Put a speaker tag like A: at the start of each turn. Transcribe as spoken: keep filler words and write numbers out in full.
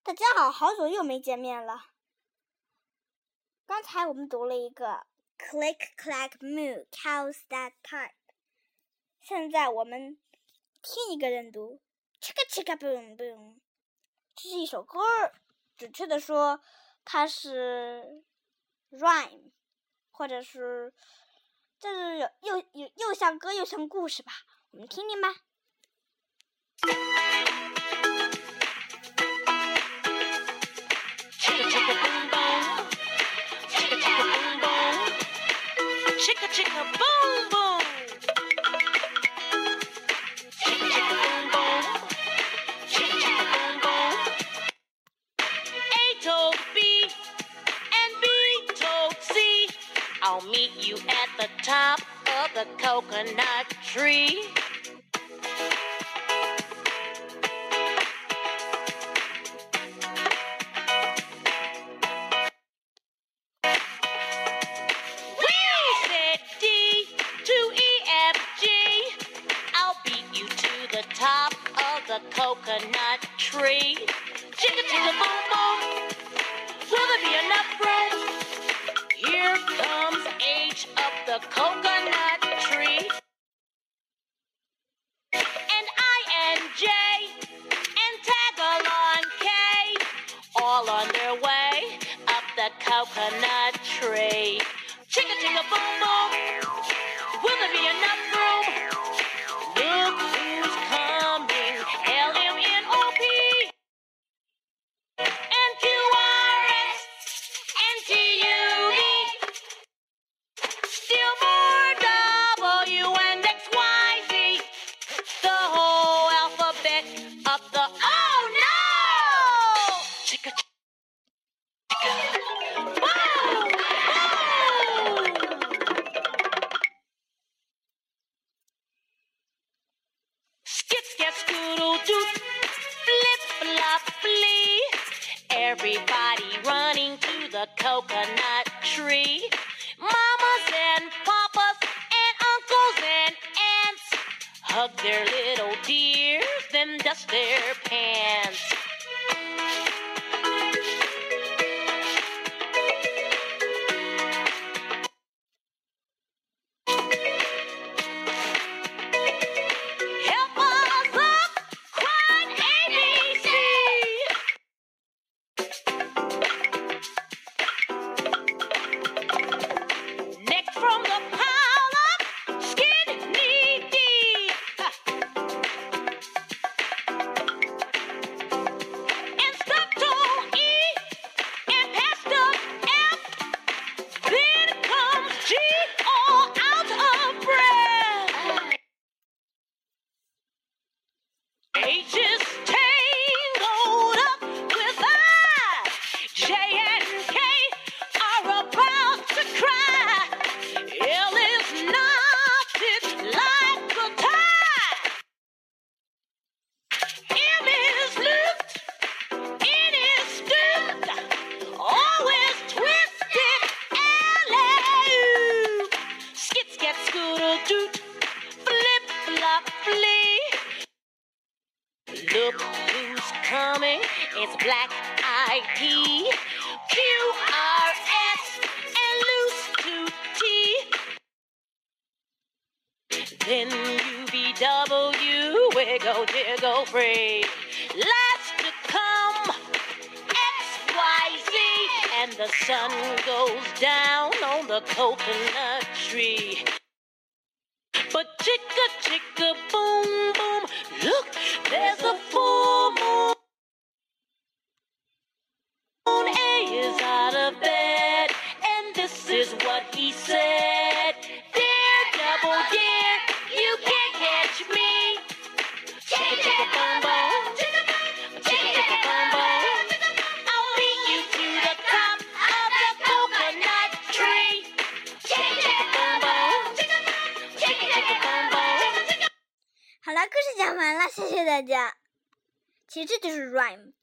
A: 大家好，好久又没见面了。刚才我们读了一个 Click clack moo, cows that type。现在我们听一个人读 Chicka chicka boom boom。这是一首歌，准确的说，它是 rhyme， 或者是就是又又又像歌又像故事吧。我们听听吧。
B: Chicka chicka boom boom, chicka chicka boom boom, chicka chicka boom boom. A told B and B told C, I'll meet you at the top of the coconut tree. Top of the coconut tree. Chicka chicka boom boom, will there be enough room? Here comes H of the coconut tree, and I and J and tag along K, all on their way up the coconut tree. Chicka chicka boom boom, will there be enough room? Look who's coming, L M N O P, and Q R S, and T U V, still more W and X Y Z, the whole alphabet of the, oh no! Chicka chicka, boom, boom! Skip, skip, scoodle, doot, flip, flop, flee. Everybody running to the coconut tree. Mamas and papas and uncles and aunts hug their little dears, then dust their pants. H is tangled up with I. J and K are about to cry. L is knotted like a tie. M is looped, N is stooped, O is twisted, L A. Skit, scat, scoodle, doot, flip, flop, flee. Look who's coming, it's Black-Eyed P, Q R S, and Loose Tooth T. Then U V W, wiggle, jiggle, free. Last to come, X Y Z, and the sun goes down on the coconut tree. But chicka chicka boom boom, look, there's a full moon. A is out of bed, and this is what he said. Dear double dear, you can't catch me. Chicka chicka boom boom, chicka chicka boom boom, I'll beat you to the top of the coconut tree. Chicka chicka boom boom, chicka chicka boom boom.
A: 好了，故事讲完了，谢谢大家。其实这就是 rhyme。